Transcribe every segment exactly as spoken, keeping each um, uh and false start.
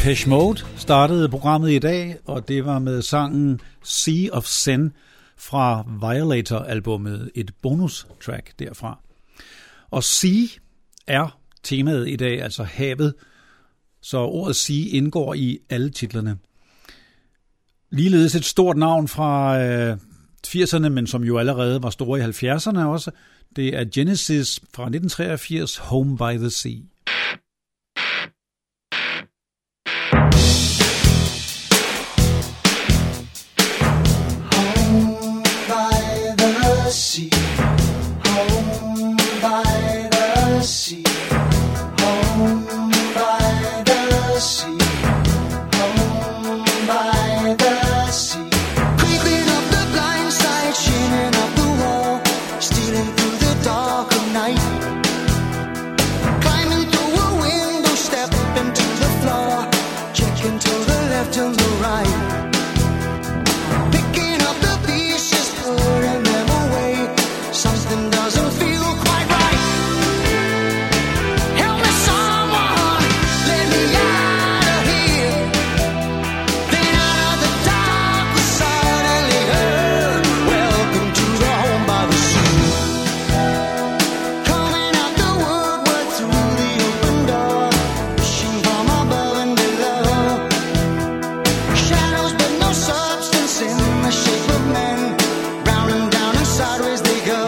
Depeche Mode startede programmet i dag, og det var med sangen Sea of Sin fra Violator-albummet, et bonustrack derfra. Og sea er temaet i dag, altså havet, så ordet sea indgår i alle titlerne. Ligeledes et stort navn fra øh, firserne, men som jo allerede var store i halvfjerdserne også. Det er Genesis fra nitten treogfirs, Home by the Sea. Sea, home by the sea, home by the sea, home by the sea. Creeping up the blind side, shimmering up the wall, stealing through the dark of night, climbing through a window, stepping to the floor, checking to the left and the right, picking up the pieces, putting them. Something doesn't feel quite right. Help me, someone, let me out of here. Then out of the dark we suddenly heard, welcome to the home by the sea. Coming out the woodwork through the open door, wishing from above and below. Shadows but no substance in the shape of men, round and down and sideways they go.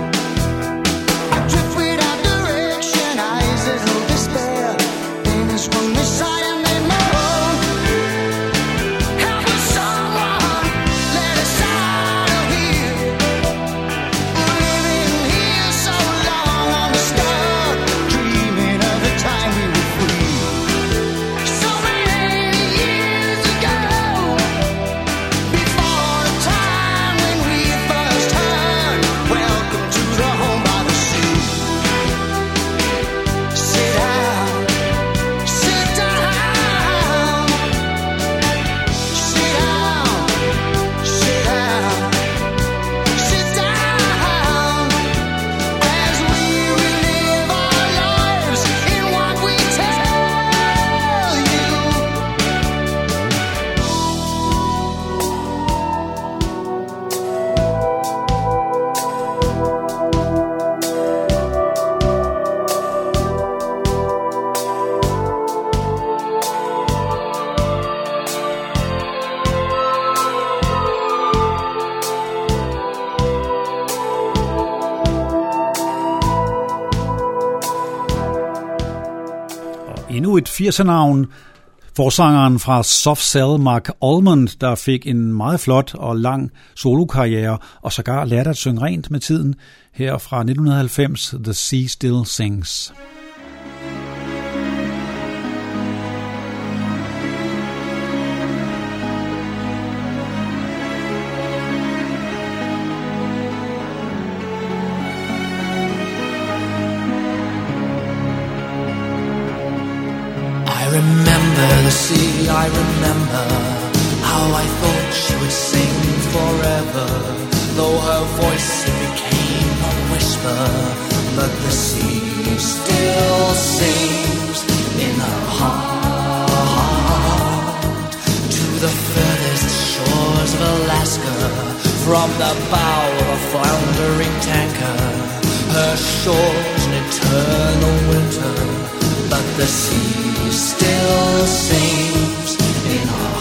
From this side and they moan. Help us, someone, let us out of here. Living here so long, I'm stuck, dreaming of the time we were free. So many years ago, before the time when we first heard, welcome to the home by the sea. Sit down. Endnu et firsernavn, forsangeren fra Soft Cell, Mark Almond, der fik en meget flot og lang solokarriere, og sågar lærte at synge rent med tiden, her fra nitten halvfems, The Sea Still Sings. I remember the sea, I remember how I thought she would sing forever, though her voice it became a whisper, but the sea still sings in her heart. To the furthest shores of Alaska, from the bow of a floundering tanker, her shores an eternal winter, but the sea still sings in her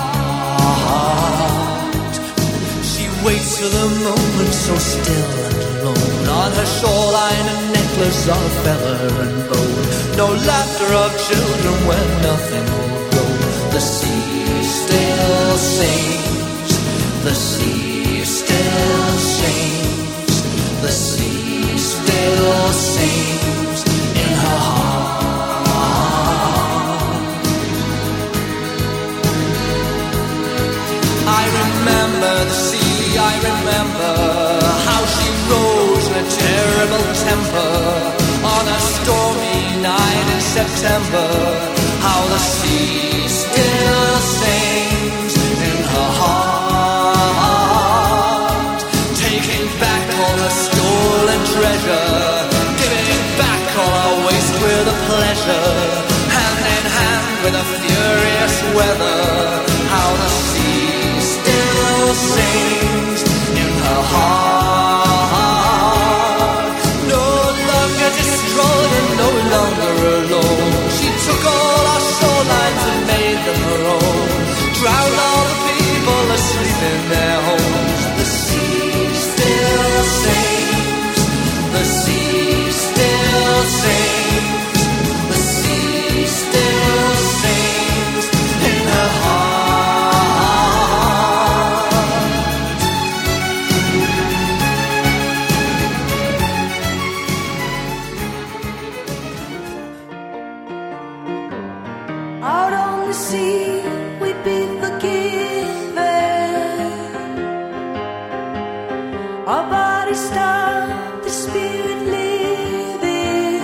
heart. She waits for the moment so still and alone, on her shoreline a necklace of feather and bone, no laughter of children where nothing will grow. The sea still sings, the sea still sings, the sea still sings in her heart. I remember the sea, I remember how she rose in a terrible temper on a stormy night in September, how the sea still sings in her heart, taking back all her stolen treasure, giving back all our waste with a pleasure, hand in hand with a furious weather, how the sea still sings in her heart. No longer destroyed and no longer alone, she took all our shorelines and made them her own, drowned all the people asleep in their homes. The sea still sings, the sea still sings, the sea still sings in her heart. Out on the sea we'd be forgiven, our bodies stop, the spirit living.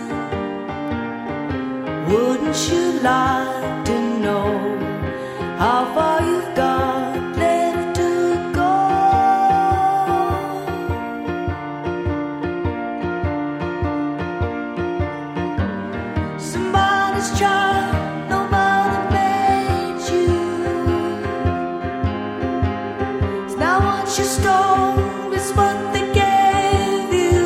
Wouldn't you like to know how far you've got left to go? Somebody's child, nobody made you. It's now what you stole is what they gave you.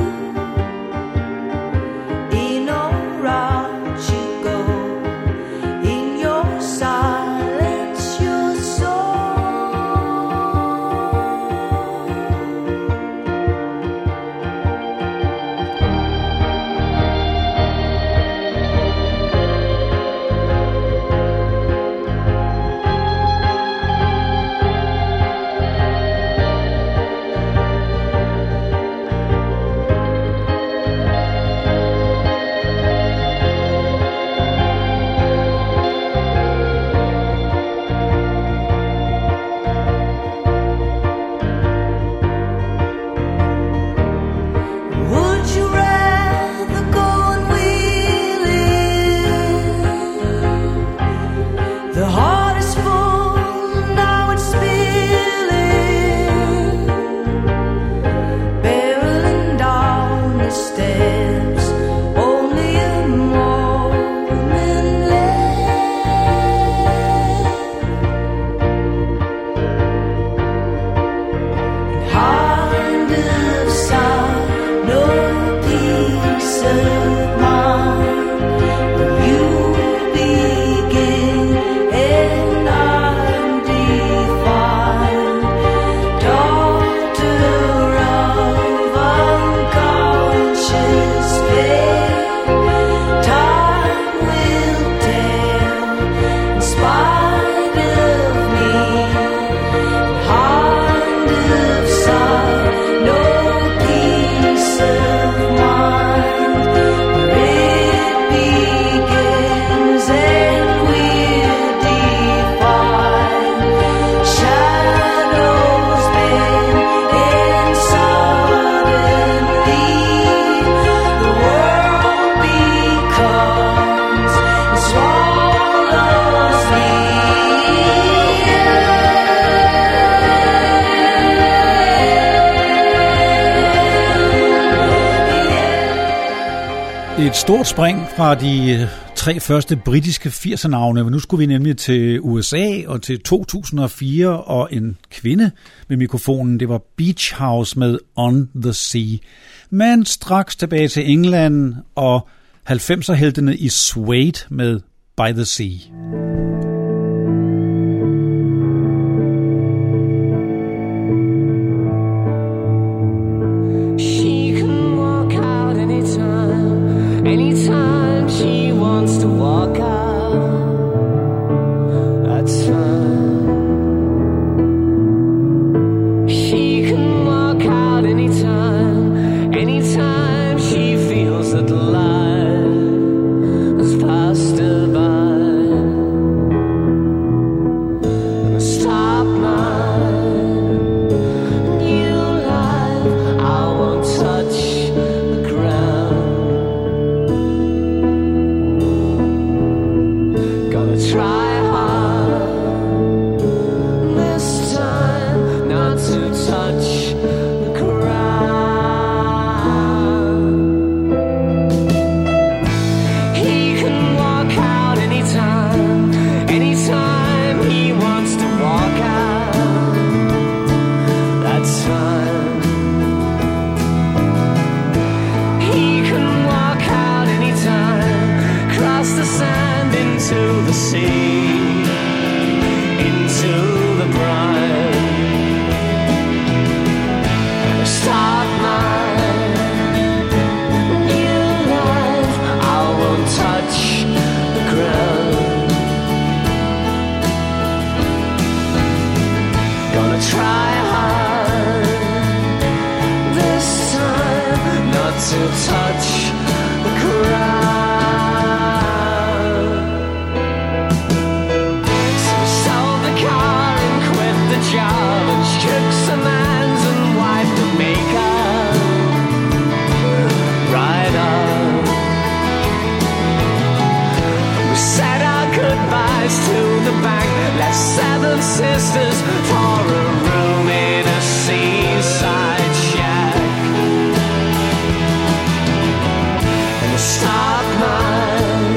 In or out you go, in your silence, your would you rather go and wheel it? The heart is full, now it's spilling, barreling down the steps, only a moment left. Hand of side, no peace of mind. When you begin and I'm defined, daughter of unconscious pain, time will tell in spite of me. Hand of side, no peace of mind. Where it begins and we're defined. Shadows bend and suddenly the world becomes and swallows me. Et stort spring fra de tre første britiske firserne-navne. Nu skulle vi nemlig til U S A og til to tusind og fire og en kvinde med mikrofonen. Det var Beach House med On the Sea. Men straks tilbage til England og halvfemser-heltene i Suede med By the Sea. She can walk out anytime, anytime she wants to walk out. That's fine. She can walk out anytime, anytime she feels that life has passed her by. Stop mine, new life, I won't touch the ground. Gonna try hard this time not to touch the ground. He can walk out anytime. sisters for a room in a seaside shack. And start my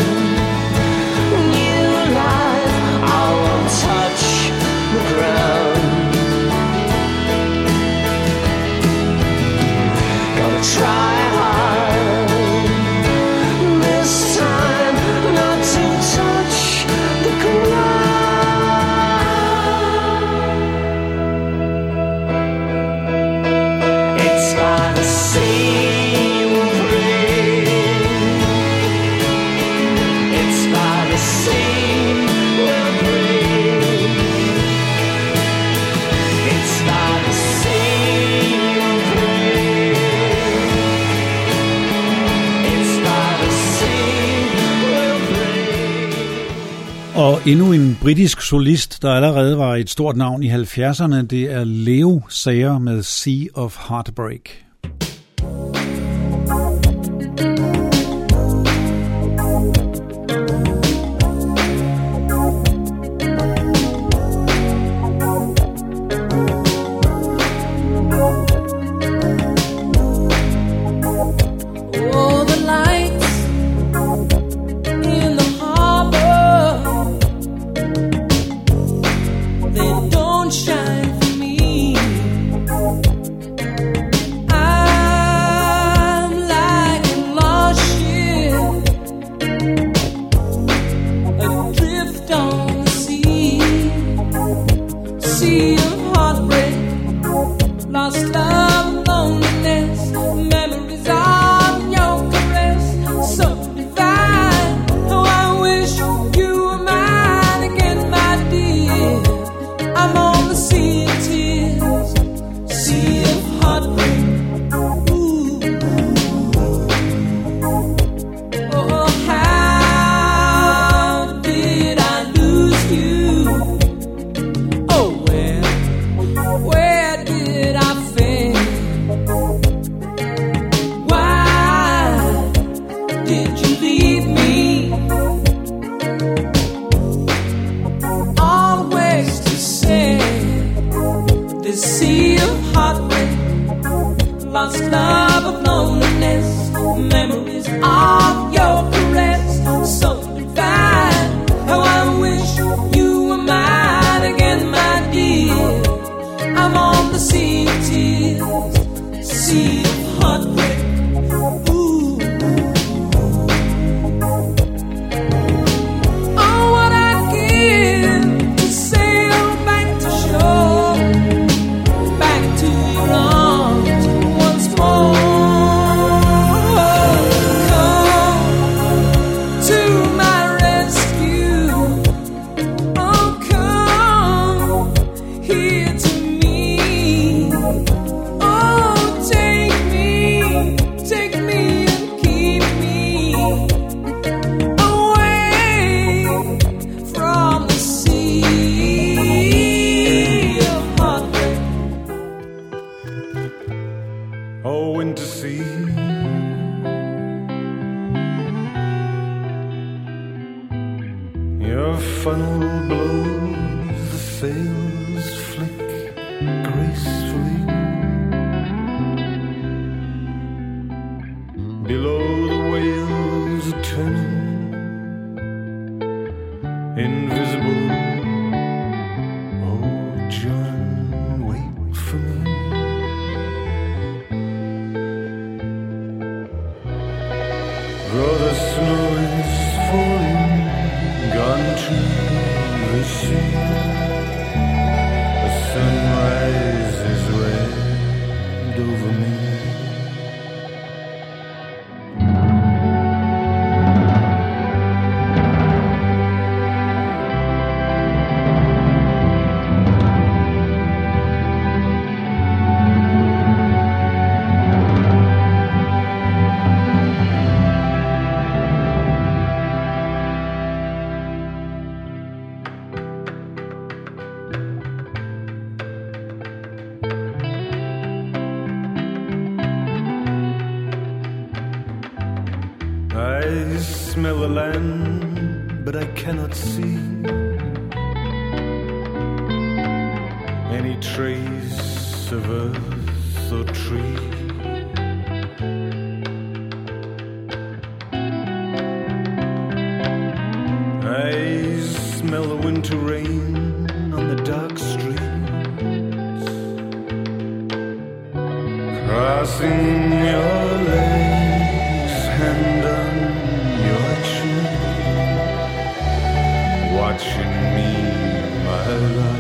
new life. I won't touch the ground. Gonna try hard this time not to touch the ground. It's by the sea we'll breathe. It's by the sea we'll breathe. It's by the sea we'll breathe. It's by the sea we'll breathe. Og endnu en britisk solist, der allerede var et stort navn i halvfjerdserne, det er Leo Sayer med Sea of Heartbreak. Oh, the lights in the harbor, they don't shine for me. I'm like a lost ship adrift on the sea, sea of heartbreak, lost love, loneliness, memories of your caress, so divine. Oh, I wish you were mine again, my dear. I'm on the sea of tears, sea of heartbreak. Ooh. Oh, how did I lose you? Oh, where, where did I fail? Why did you leave me? Always to say, this sea of heartbreak, lost love of loneliness, memories of your caress, so divine. How I wish you were mine again, my dear. I'm on the sea of tears, sea of heartbreak. Ooh. Oh, what I'd give to sail back to shore, back to your arms once more. Come to my rescue. Oh, come here to me. Oh, take me, take me and keep me away from the sea of heartbreak. Oh, winter sea, your funnel blows, the sails flick gracefully. Below the whales are turning, invisible. Oh, John, wait for me. Brother, snow is falling, gone to the sea. The sunrise is red over me. I smell the land, but I cannot see. trace of earth or tree. I smell the winter rain on the dark streets, crossing your legs, hand on your chin, watching me, my love.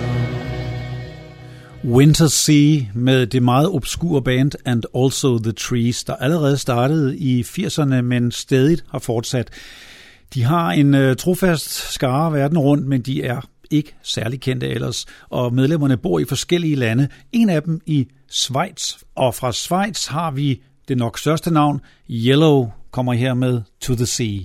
Winter Sea med det meget obskure band And Also The Trees, der allerede startede i firserne, men stadig har fortsat. De har en øh, trofast skare verden rundt, men de er ikke særlig kendte ellers, og medlemmerne bor i forskellige lande. En af dem i Schweiz, og fra Schweiz har vi det nok største navn. Yellow kommer her med To The Sea.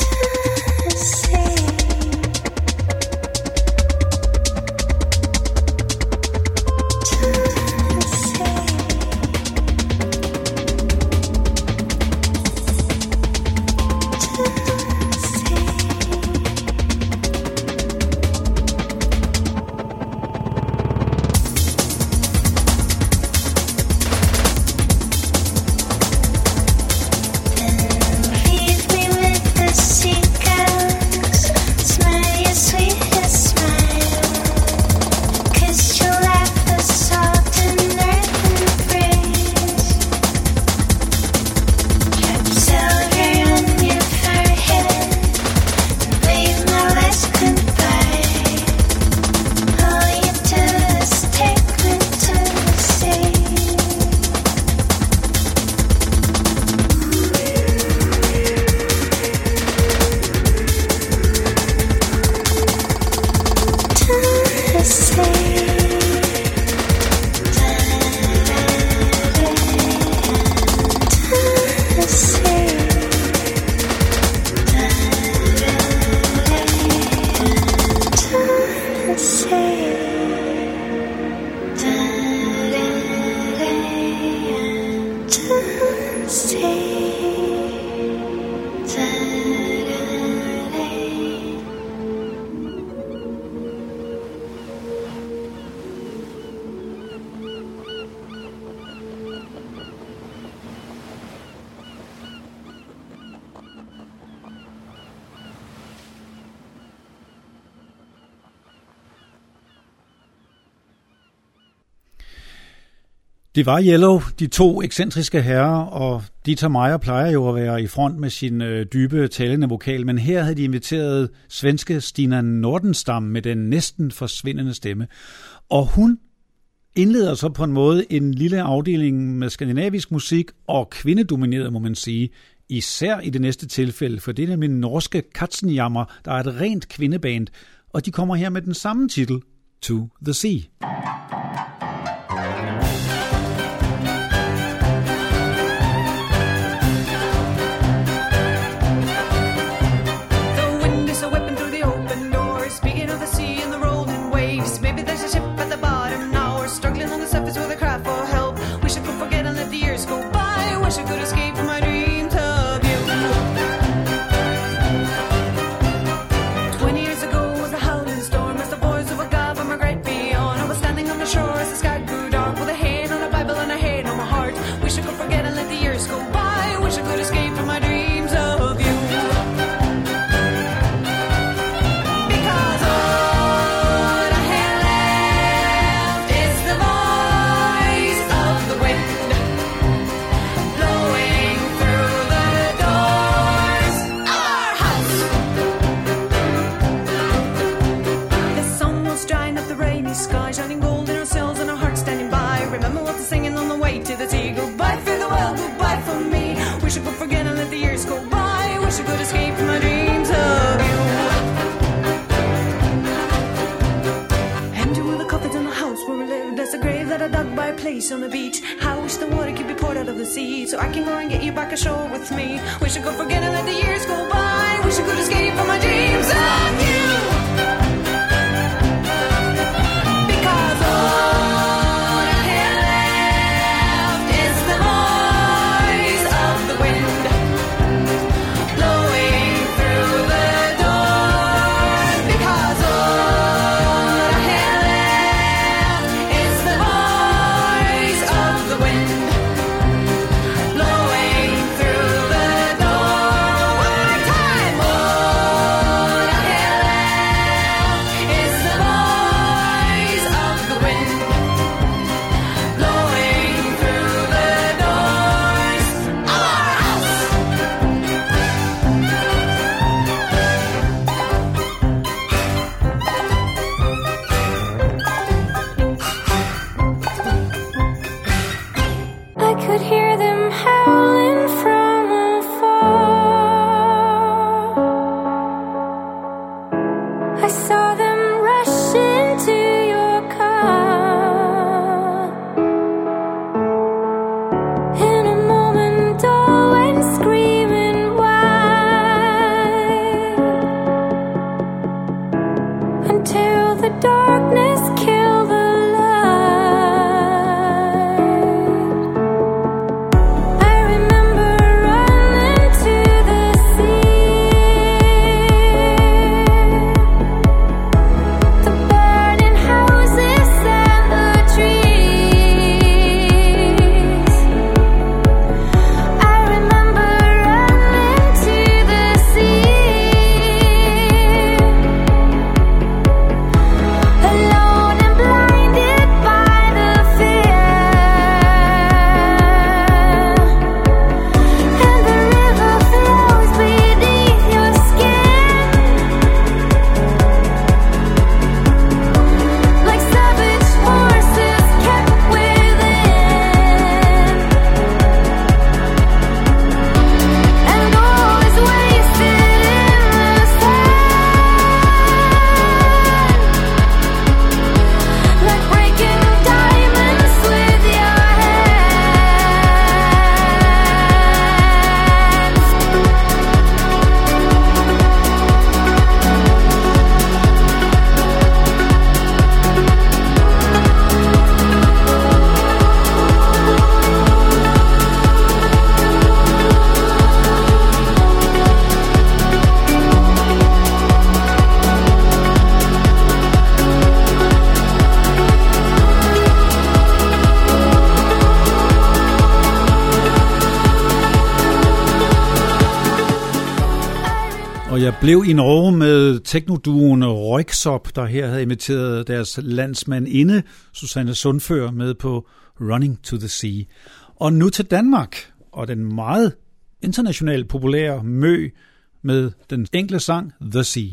Det var Yellow, de to ekscentriske herrer, og Dieter Meier plejer jo at være i front med sin øh, dybe talende vokal, men her havde de inviteret svenske Stina Nordenstam med den næsten forsvindende stemme. Og hun indleder så på en måde en lille afdeling med skandinavisk musik og kvindedomineret, må man sige, især i det næste tilfælde, for det er nemlig norske Katzenjammer, der er et rent kvindeband, og de kommer her med den samme titel, To The Sea. On the beach, I wish the water could be poured out of the sea, so I can go and get you back ashore with me. Wish I could forget and let the years go by. Wish I could escape from my dreams of you. Because all I have left is the voice of the wind blowing through the door. Because all I have left is the Till the darkness kill the Og jeg blev i Norge med teknoduoen Röyksopp, der her havde inviteret deres landsmandinde, Susanne Sundfør, med på Running to the Sea. Og nu til Danmark, og den meget internationalt populære Mø med den enkle sang The Sea.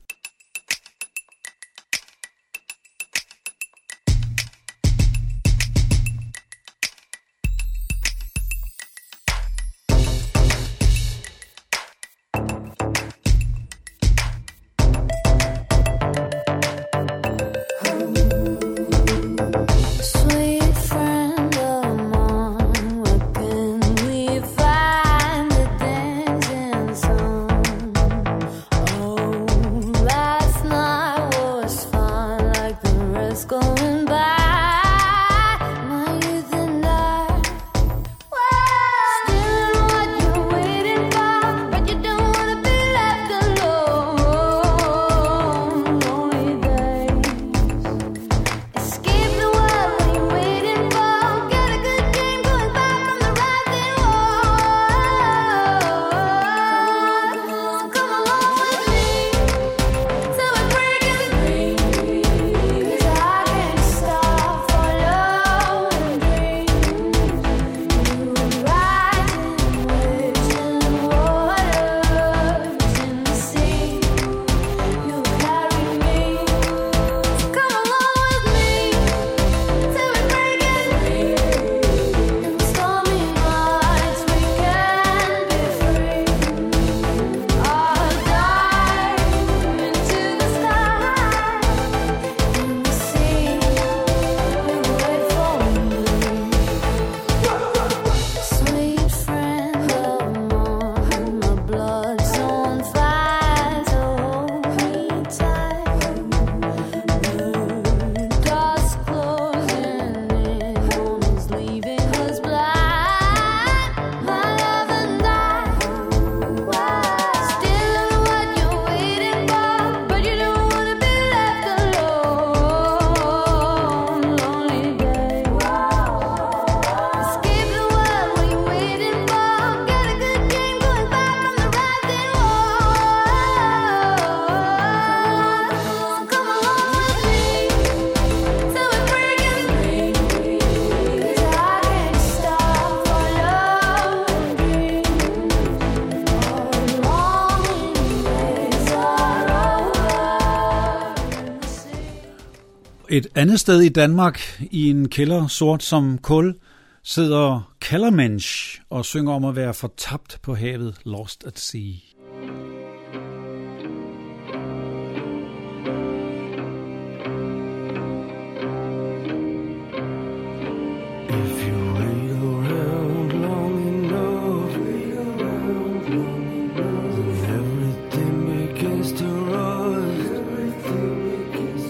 Et andet sted i Danmark, i en kælder sort som kul, sidder Kellermensch og synger om at være fortabt på havet, Lost at Sea. Everything begins to rust. Everything begins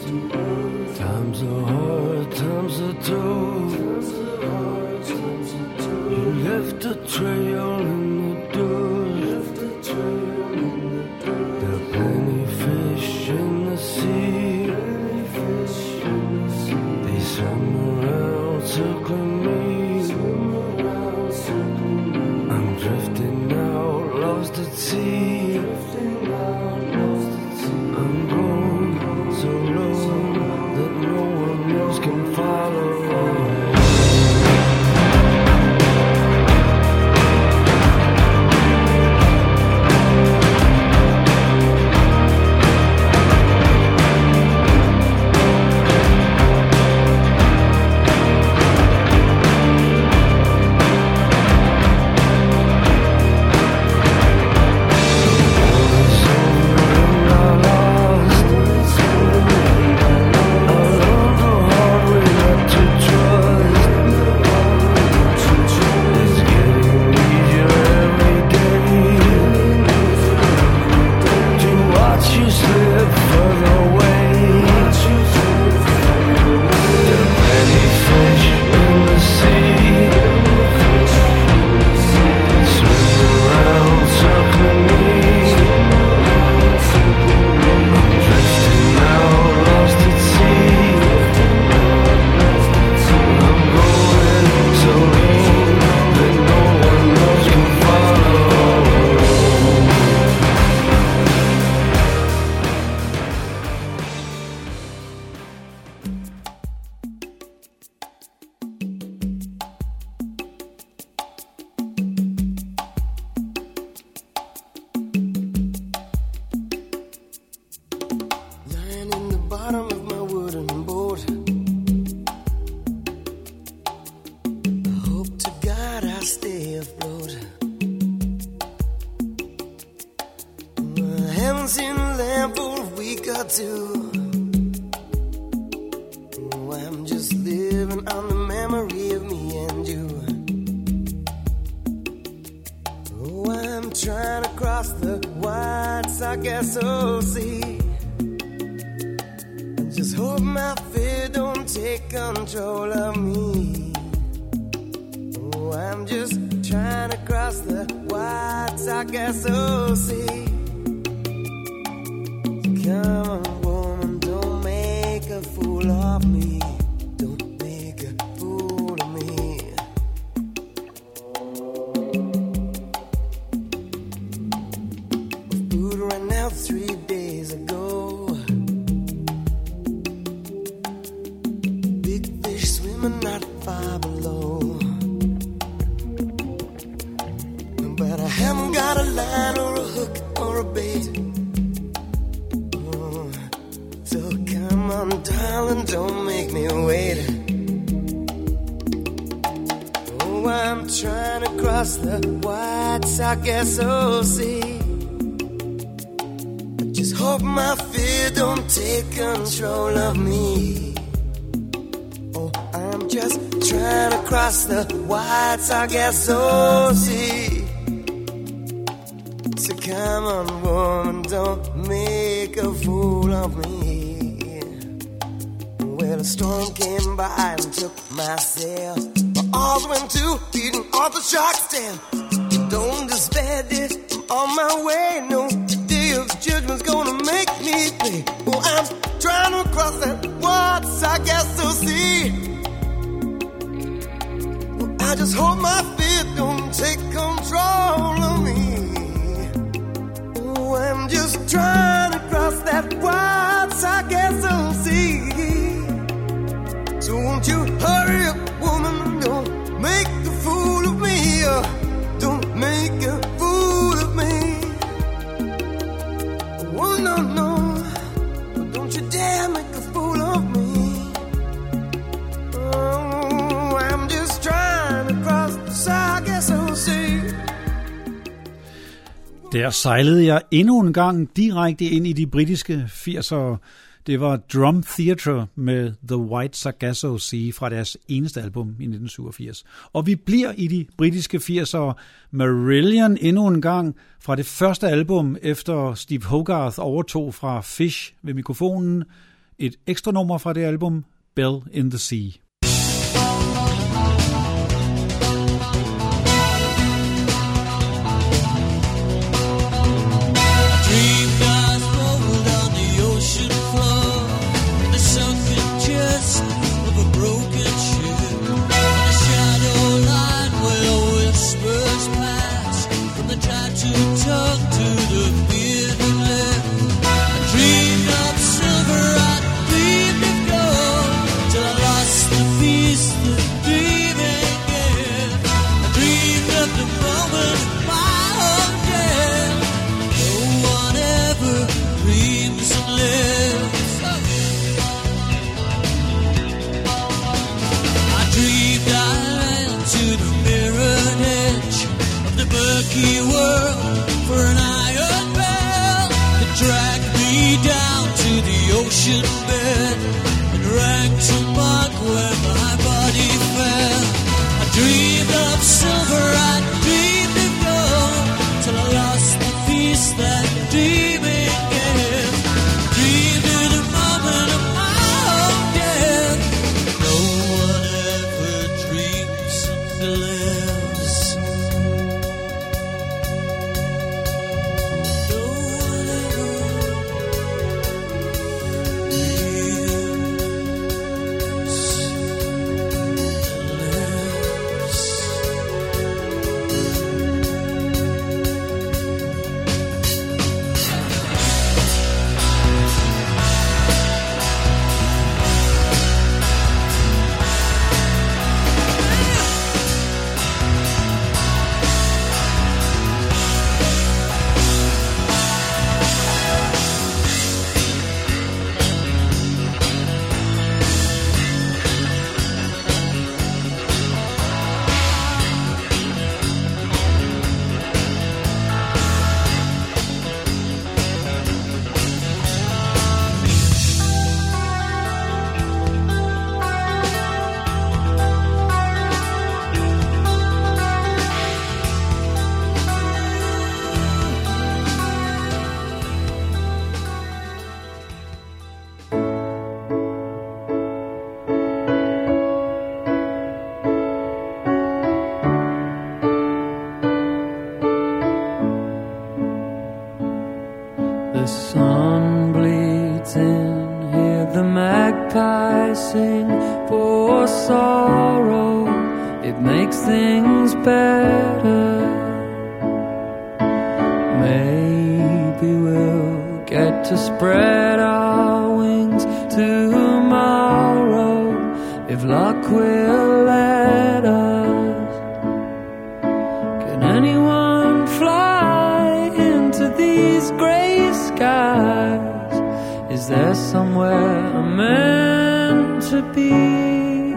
guess I'll see. I just hope my fear don't take control of me. Oh, I'm just trying to cross the white, I guess I'll see. Come on, woman, don't make a fool of me. Don't make a fool of me. Food ran out three days ago. Big fish swimming not far below. But I haven't got a line or a hook or a bait. Come on, darling, don't make me wait. Oh, I'm trying to cross the white sock S O C. I just hope my fear don't take control of me. Oh, I'm just trying to cross the white sock S O C. So come on, woman, don't make a fool of me. Well, a storm came by and took my sail. My arms went to beating off the shark's tail. Don't despair, dear, I'm on my way. No day of judgment's gonna make me pay. Oh, I'm trying to cross that water, I guess I'll see. Well, I just hope my fear don't take control of me. Oh, I'm just trying to cross that water, I guess I'll see. So won't you hurry up, woman, don't make a fool of me, uh, don't make a fool of me. Oh, no, no, don't you dare make a fool of me. Oh, I'm just trying to cross the Sargasso Sea. Der sejlede jeg endnu en gang direkte ind i de britiske firsere. Det var Drum Theatre med The White Sargasso Sea fra deres eneste album i nitten syvogfirs. Og vi bliver i de britiske firsere. Marillion endnu en gang fra det første album, efter Steve Hogarth overtog fra Fish ved mikrofonen. Et ekstra nummer fra det album, Bell in the Sea. Murky world for an iron bell that dragged me down to the ocean bed and rang to mark where my body fell. I dreamed of silver, I dreamed of gold till I lost the peace that dreaming gave. Dreamed of the moment of my own death. No one ever dreams something lives. magpie sing for sorrow, it makes things better. Maybe we'll get to spread our wings tomorrow, if luck will let us. Can anyone fly into these gray skies? Is there somewhere I'm meant to be?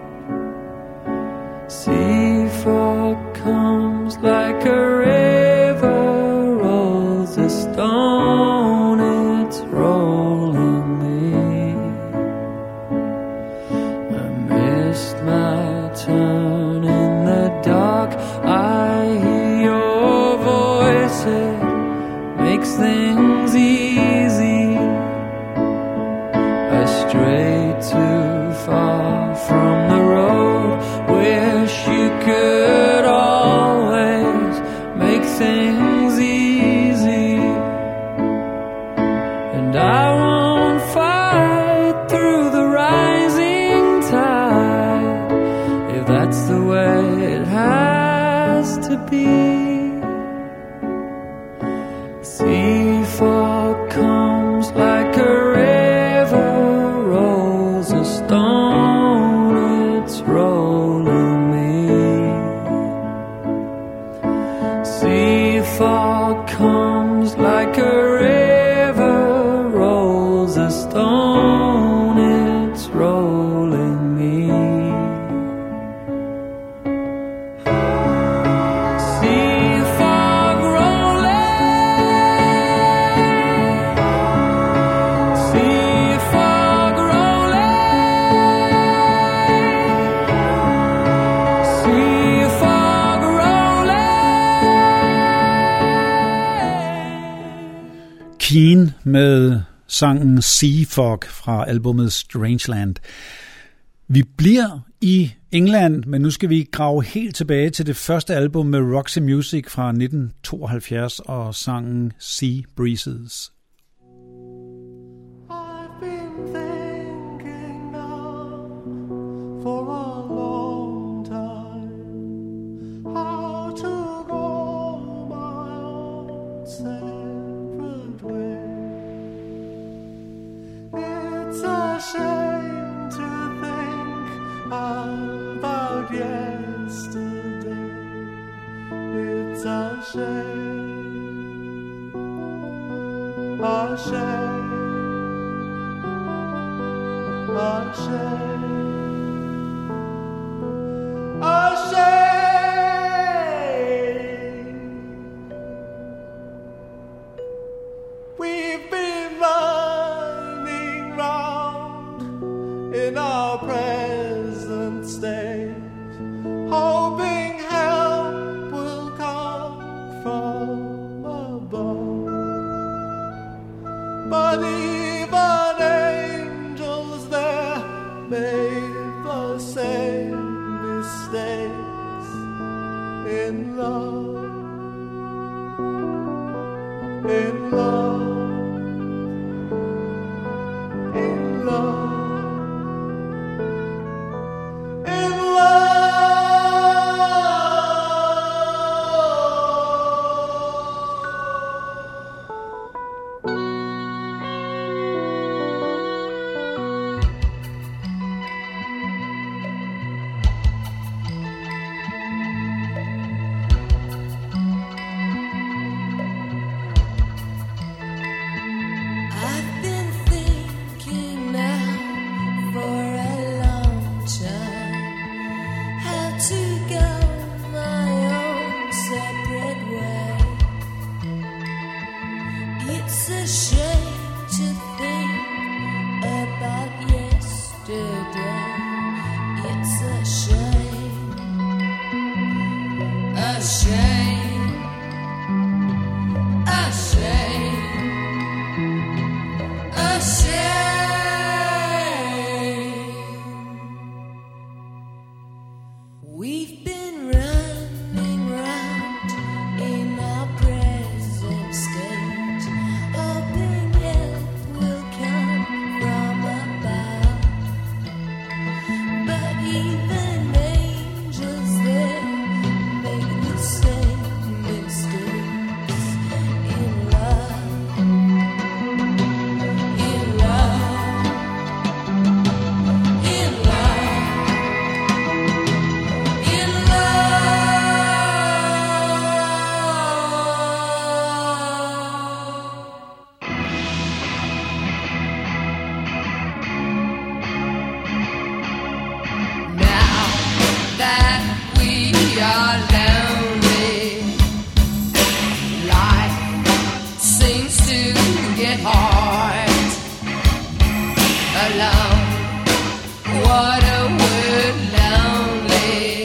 Sea fog comes like a river, rolls a stone, it's rolling me. I missed my turn in the dark, I hear your voice, it makes things easy. I stray too far from the road, wish you could always make things easy. And I won't fight through the rising tide, if that's the way it has to be. Sea fog comes like a river, rolls a stone, it's rolling me. Sea fog comes like a river, rolls a stone, it's rolling me. Sea fog rolling, sea fog rolling, sea fog rolling. Keane med sangen Sea Fog fra albumet Strangeland. Vi bliver i England, men nu skal vi grave helt tilbage til det første album med Roxy Music fra nitten tooghalvfjerds og sangen Sea Breezes. I've been thinking now for a long time how to go my own separate way. It's a shame to think about yesterday. It's a shame, a shame, a shame, a shame. We've been running round in our present state, hoping help will come from above. But even angels there made the same mistakes in love, in love, in love. What a word, lonely.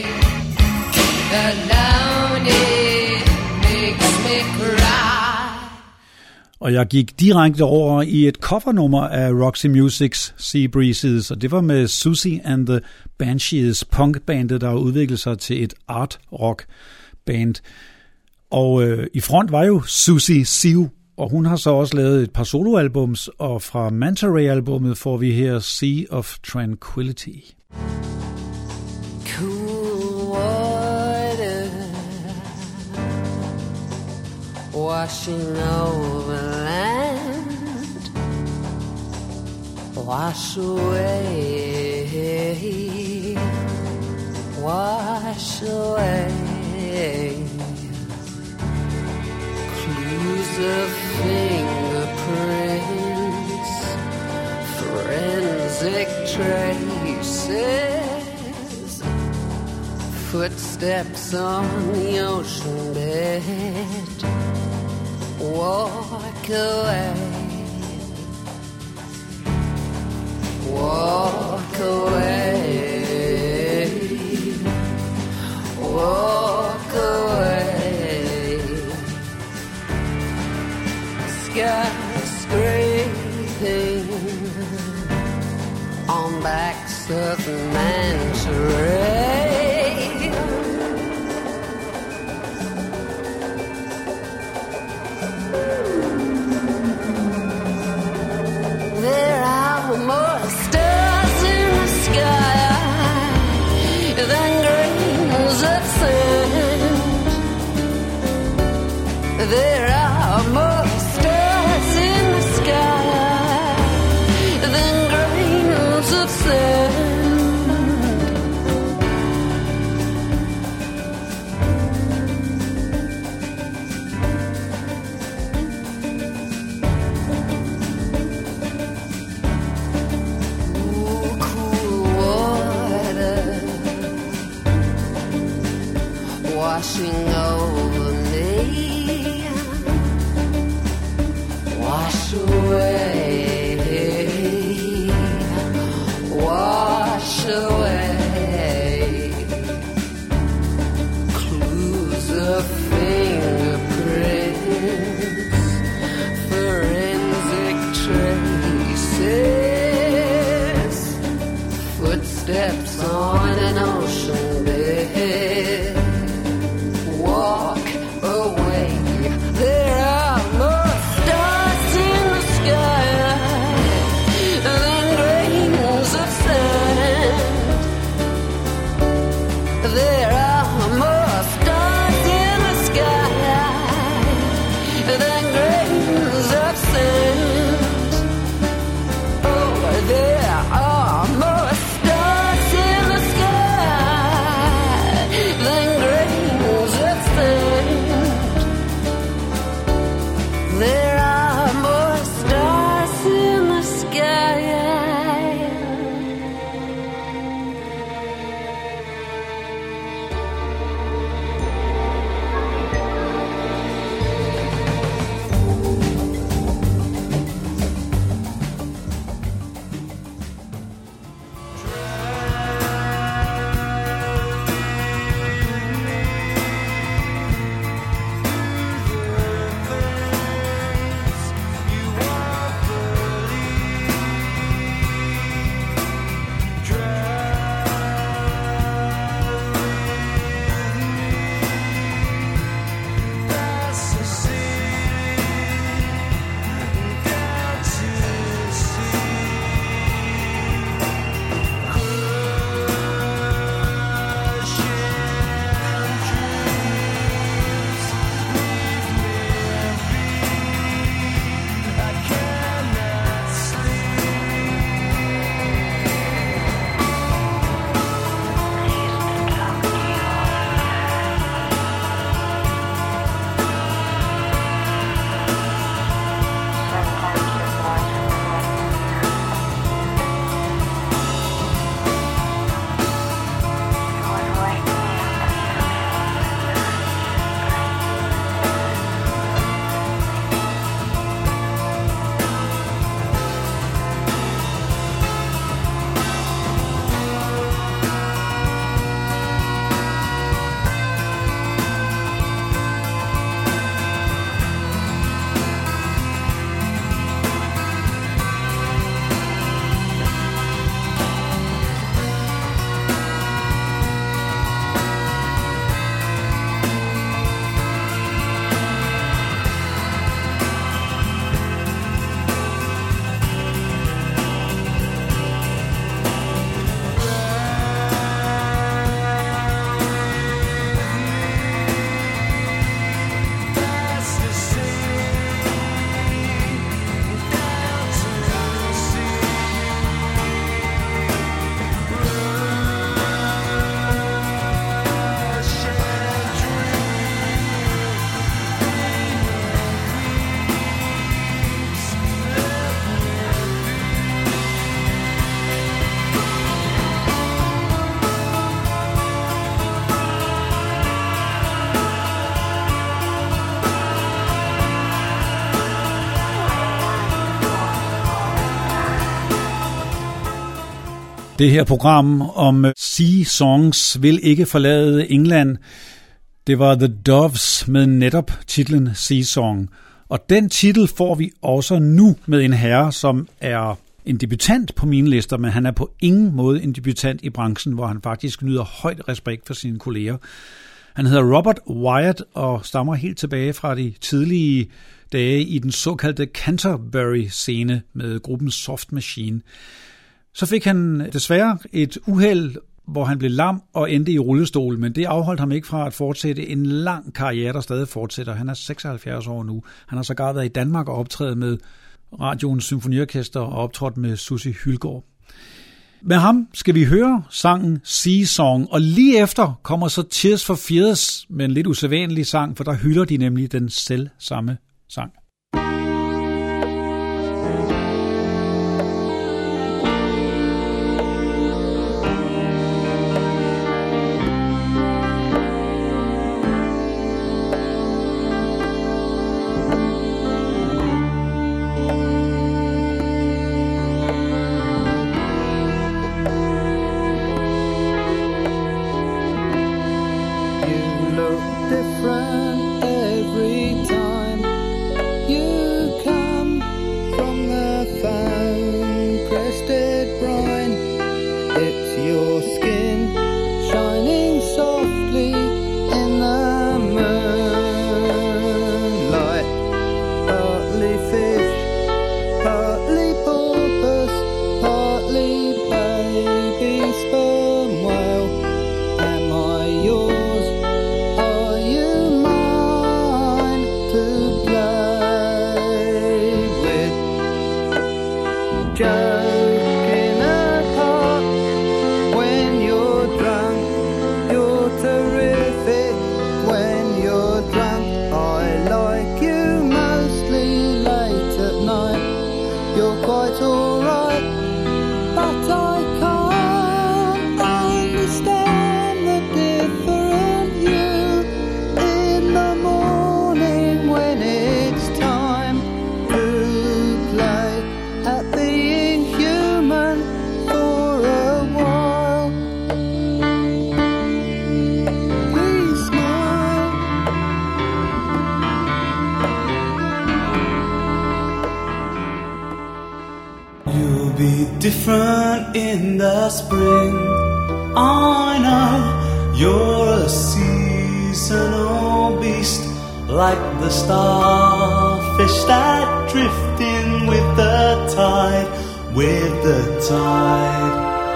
Alone it makes me cry. Og jeg gik direkte over i et covernummer af Roxy Musics Sea Breezes, og det var med Susie and the Banshees, punkbandet, der har udviklet sig til et art rock band. Og øh, i front var jo Susie Siu, og hun har så også lavet et par soloalbums, og fra Manta Ray-albummet får vi her Sea of Tranquility. Cool water washing over land, wash away, wash away. Clues of fingerprints, forensic traces, footsteps on the ocean bed. Walk away, walk away, walk away. Skyscraping on backs of manta ray. There are more stars in the sky than grains of sand. There are more stars in the sky than grains of sand. Washing over me, wash away, wash away. Clues of fingerprints, forensic traces, footsteps on an ocean bed. Walk away. There are more stars in the sky than grains of sand. There are more stars in the sky than grains of sand. Oh, there are more stars in the sky Det her program om Sea Songs vil ikke forlade England. Det var The Doves med netop titlen Sea Song. Og den titel får vi også nu med en herre, som er en debutant på mine lister, men han er på ingen måde en debutant i branchen, hvor han faktisk nyder højt respekt for sine kolleger. Han hedder Robert Wyatt og stammer helt tilbage fra de tidlige dage i den såkaldte Canterbury-scene med gruppen Soft Machine. Så fik han desværre et uheld, hvor han blev lam og endte i rullestol, men det afholdt ham ikke fra at fortsætte en lang karriere, der stadig fortsætter. Han er seksoghalvfjerds år nu. Han har sågar været i Danmark og optrædet med radioens symfoniorkester og optrådt med Sussi Hylgaard. Med ham skal vi høre sangen Sea Song, og lige efter kommer så Tears for Fears med en lidt usædvanlig sang, for der hylder de nemlig den selv samme sang. Different in the spring, I know you're a seasonal beast, like the starfish that drift in with the tide, with the tide.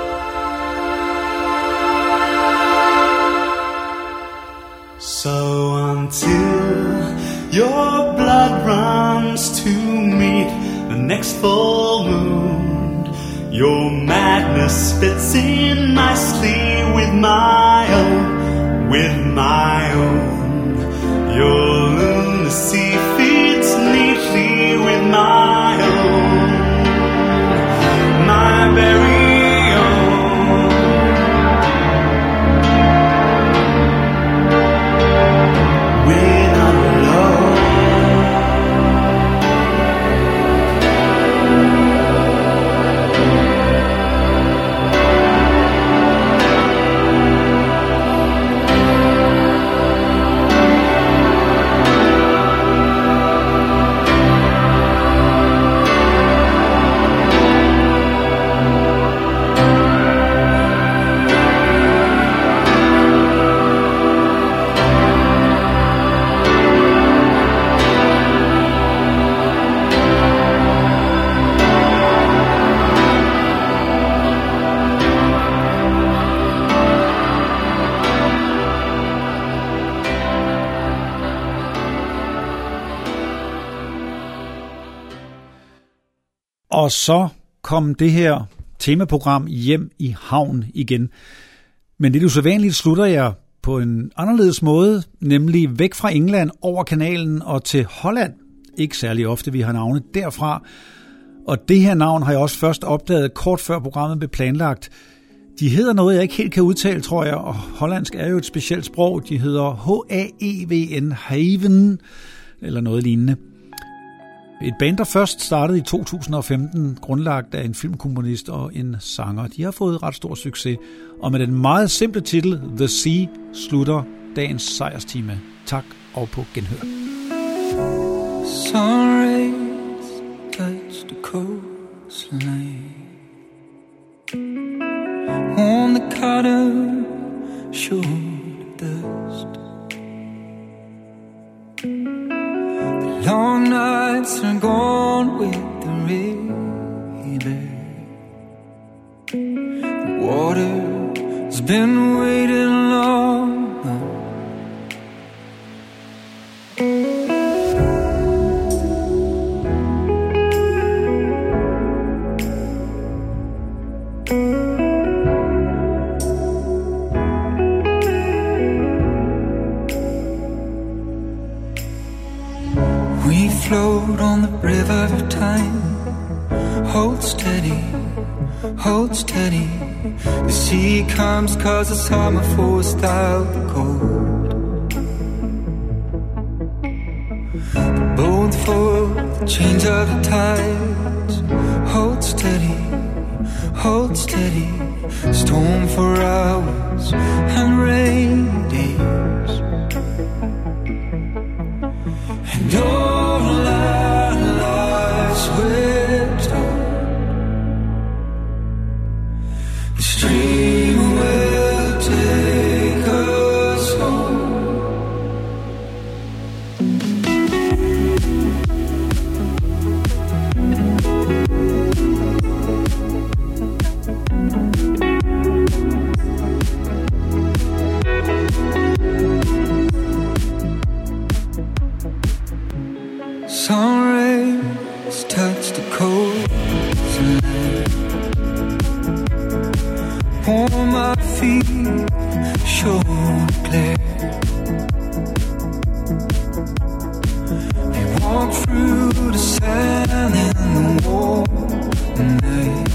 So until your blood runs to meet the next full moon, your madness fits in nicely with my own, with my own. Your lunacy fits neatly with my own, my very own. We're not alone. Og så kom det her temaprogram hjem i havn igen. Men det usædvanligt slutter jeg på en anderledes måde, nemlig væk fra England over kanalen og til Holland. Ikke særlig ofte, vi har navnet derfra. Og det her navn har jeg også først opdaget kort før programmet blev planlagt. De hedder noget, jeg ikke helt kan udtale, tror jeg, og hollandsk er jo et specielt sprog. De hedder H A E V N, Haven, eller noget lignende. Et band, der først startede i to tusind og femten, grundlagt af en filmkomponist og en sanger. De har fået ret stor succes, og med den meget simple titel The Sea slutter dagens sejrstime. Tak og på genhør. Sun rays touch the coastline on the cotton shore dust. The long nights are gone with the river. The water's been waiting long. We float on the river of time. Hold steady, hold steady. The sea comes cause the summer forced out the cold. The boat for the change of the tides. Hold steady, hold steady. Storm for hours and rain days. And all our lives we're told the stream will take us home. Sun rays touch the coastline, warm my feet, shoulder glare. We walk through the sand and the warm night.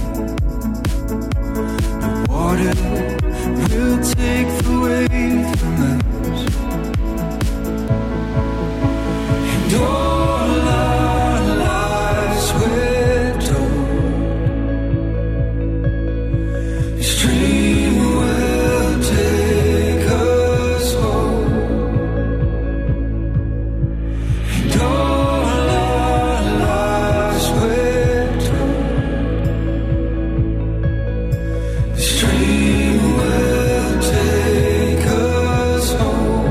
The water will take the weight from us. And all our lives we're told the stream will take us home. And all our lives we're told the stream will take us home.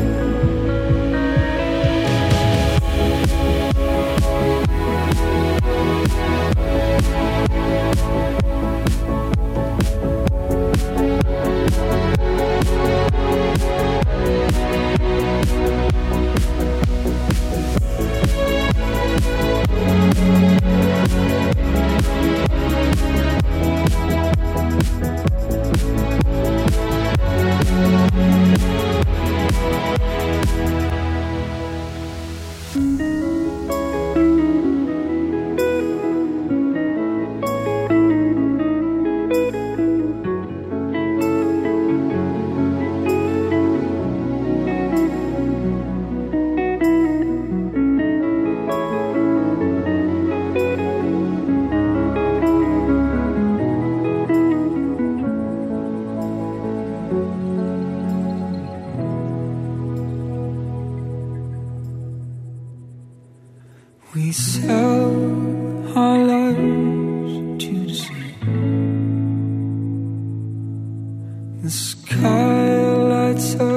We sell our lives to the sea. The sky lights up